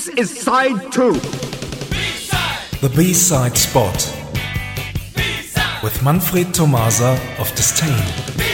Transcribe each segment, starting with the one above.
This is side 2. The B-side spot. With Manfred Tomasa of Disdain.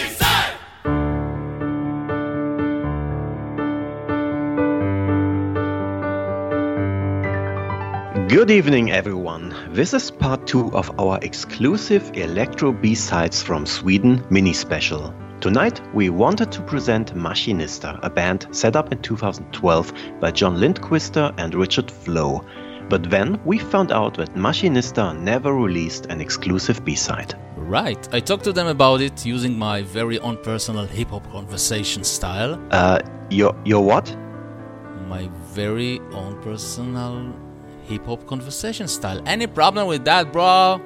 Good evening, everyone. This is part 2 of our exclusive Electro B-Sides from Sweden mini special. Tonight we wanted to present Maschinista, a band set up in 2012 by John Lindquister and Richard Flo. But then we found out that Maschinista never released an exclusive B-side. Right, I talked to them about it using my very own personal hip-hop conversation style. Your what? My very own personal hip-hop conversation style. Any problem with that, bro?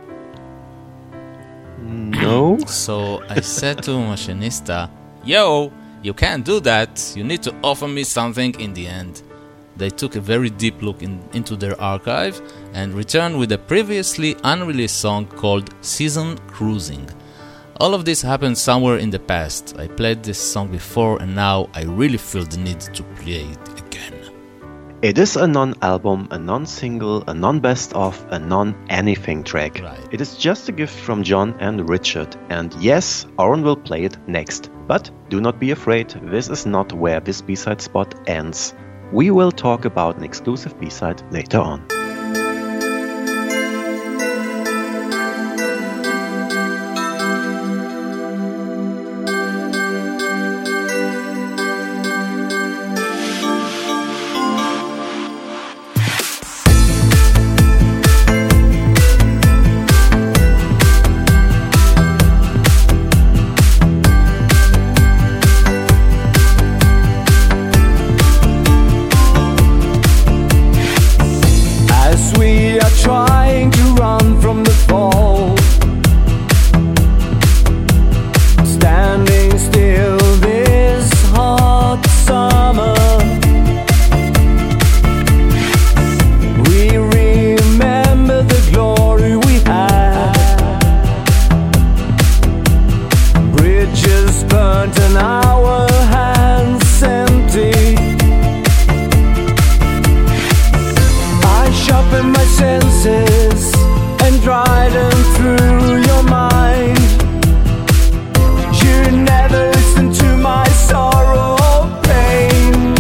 No. So I said to Maschinista, yo, you can't do that. You need to offer me something in the end. They took a very deep look into their archive and returned with a previously unreleased song called Season Cruising. All of this happened somewhere in the past. I played this song before and now I really feel the need to play it again. It is a non-album, a non-single, a non-best-of, a non-anything track. Right. It is just a gift from John and Richard. And yes, Oren will play it next. But do not be afraid, this is not where this B-side spot ends. We will talk about an exclusive B-side later on. Trying to run from the fall, standing still this hot summer. We remember the glory we had. Bridges burnt and our hands empty. I sharpen my senses and drive them through your mind. You never listen to my sorrow or pain.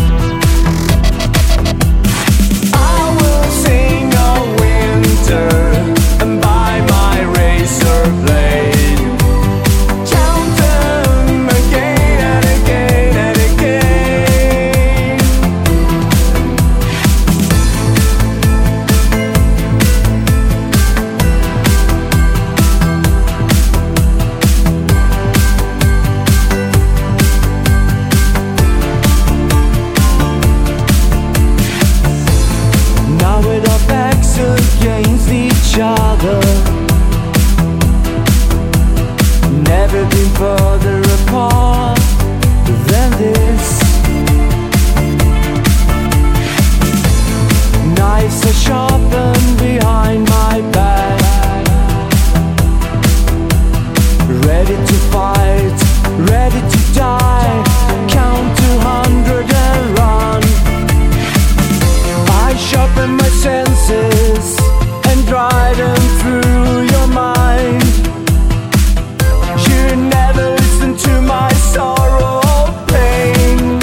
I will sing of winter and buy my razor blade. Count them again and again and again. Now with our backs against each other, never been further apart than this. Knives are sharpened behind my back, ready to fight, ready to die. Count 200 and run. I sharpen my senses and drive them through your mind. You never listen to my sorrow or pain.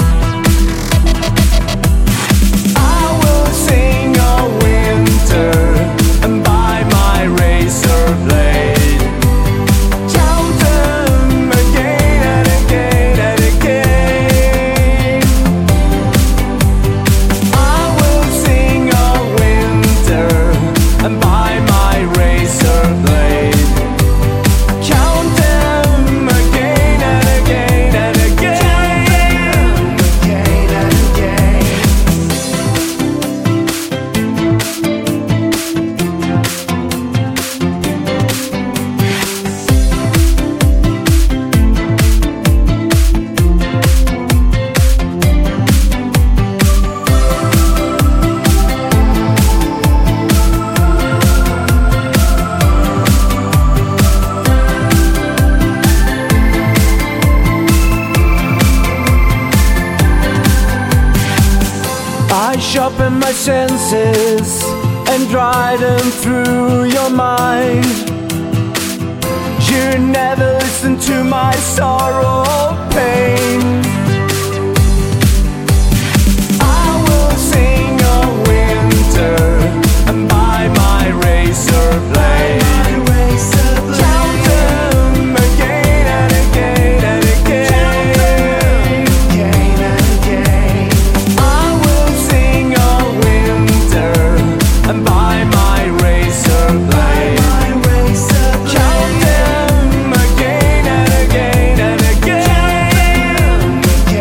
I will sing of winter and buy my razor blade. Count them again and again and again. I will sing of winter and buy my sharpen my senses and dry them through your mind. You never listen to my sorrow or pain. I will sing of winter and by my razor blade count them again and again and again. I will sing of winter and by my razor blade count them again and again and again.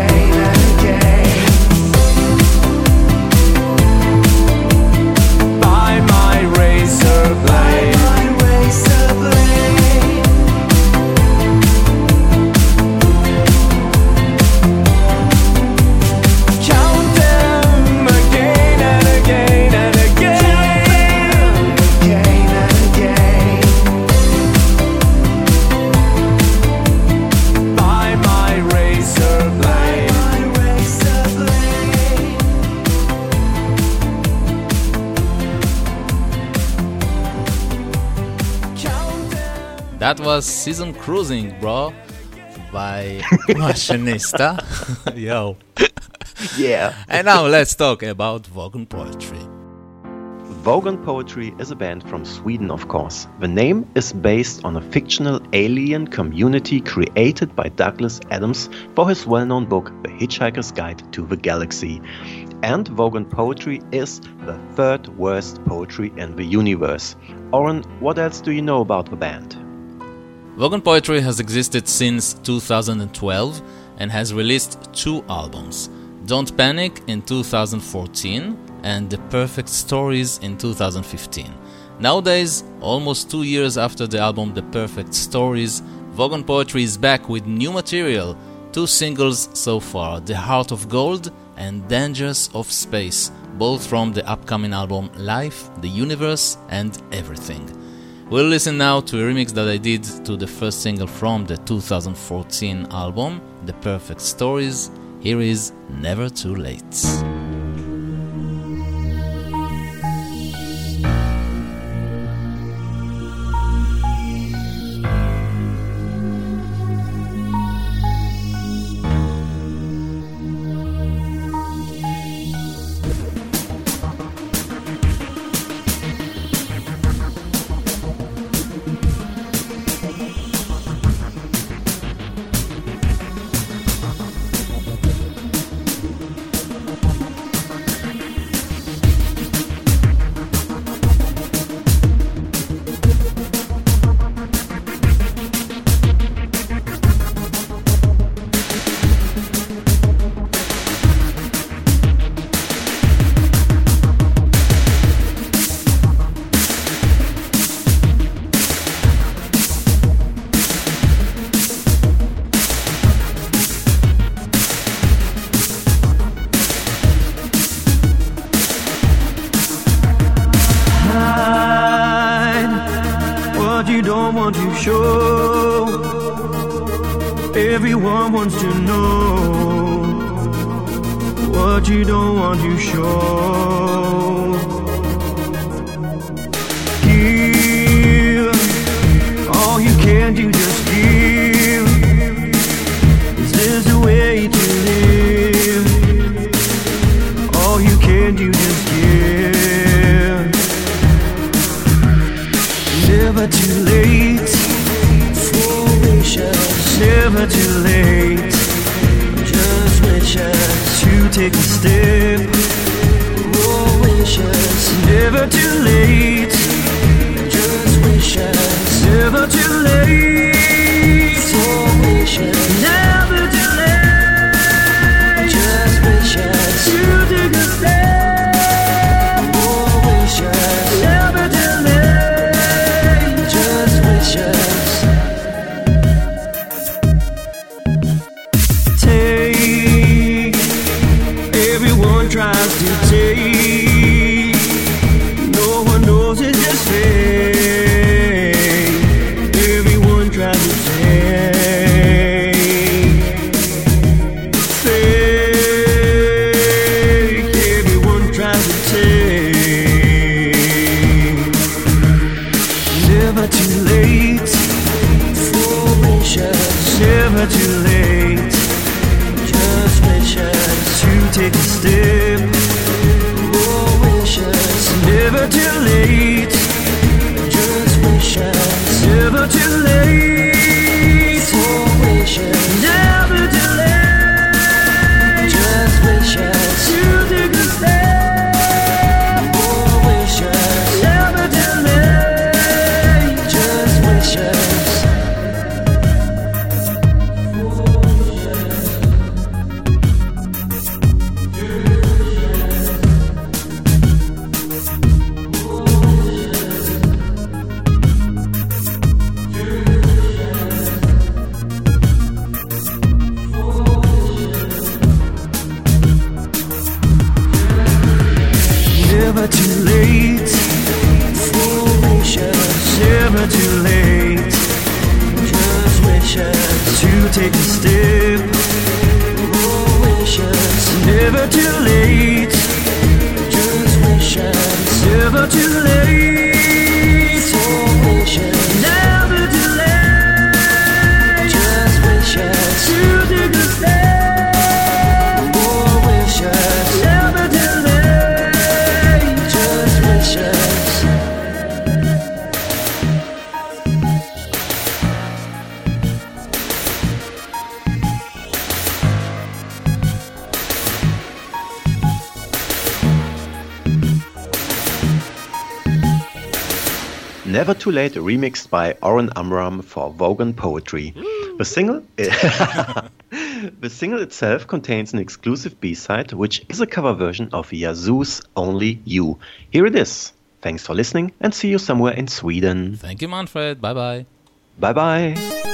By my razor blade. Count them again and again and again. By my razor blade. Count them. That was Season Cruising, bro, by Machinista. Yo. Yeah. And now let's talk about Vogon Poetry. Vogon Poetry is a band from Sweden, of course. The name is based on a fictional alien community created by Douglas Adams for his well-known book, The Hitchhiker's Guide to the Galaxy. And Vogon Poetry is the third worst poetry in the universe. Oren, what else do you know about the band? Vogon Poetry has existed since 2012 and has released 2 albums. Don't Panic in 2014 and The Perfect Stories in 2015. Nowadays, almost 2 years after the album The Perfect Stories, Vogon Poetry is back with new material. 2 singles so far, The Heart of Gold and Dangers of Space, both from the upcoming album Life, the Universe and Everything. We'll listen now to a remix that I did to the first single from the 2014 album, The Perfect Stories. Here is Never Too Late. Everyone wants to know what you don't want to show. Give all you can do, just give. Is this the way to live? All you can do, just give. Never too late for wishes. Never too late, just wishes to take a step. More wishes. Never too late, just wishes. Never too late, for wishes. Never too late, just wishes to take a step. More wishes. Never too late, just wishes. Tries to take, no one knows it never too late. Four wishes, never too late. Just wishes to take a step. Four wishes, never too late. Just wishes, never too late. Four wishes, never too late. Just wishes to take a step. Four wishes, never too late. Just wishes. Never Too Late remixed by Oren Amram for Vogan Poetry. The single the single itself contains an exclusive B-side, which is a cover version of Yazoo's Only You. Here it is. Thanks for listening and see you somewhere in Sweden. Thank you, Manfred. Bye-bye. Bye-bye.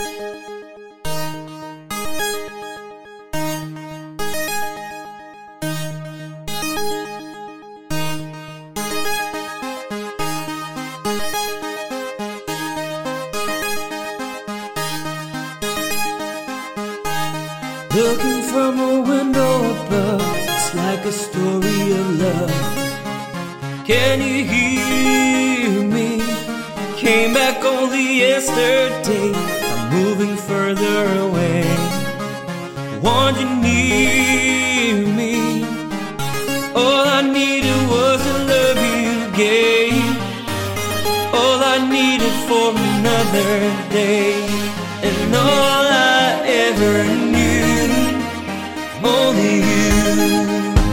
Looking from a window above, it's like a story of love. Can you hear me? Came back only yesterday. I'm moving further away. Want you near me? All I needed was the love you gave. All I needed for another day. And all I ever knew, only you.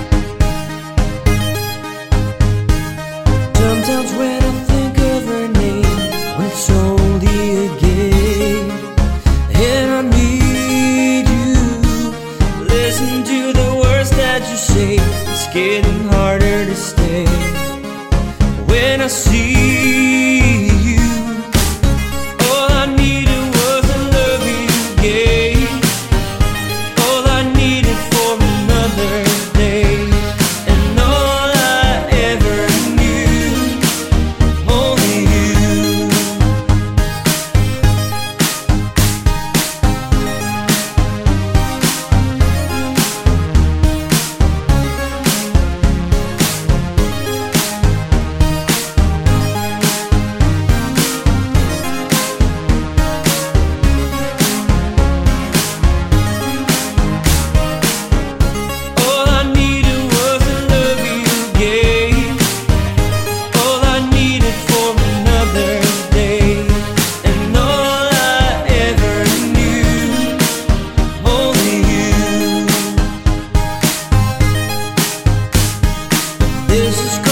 Sometimes when I think of her name, when it's only a game, and I need you. Listen to the words that you say, it's getting harder to stay. When I see you, all I needed was the love you gave. All I needed for another day. And all I ever knew, only you. All I needed was the love you gave. All I needed for another day. And all I ever knew, only you. This is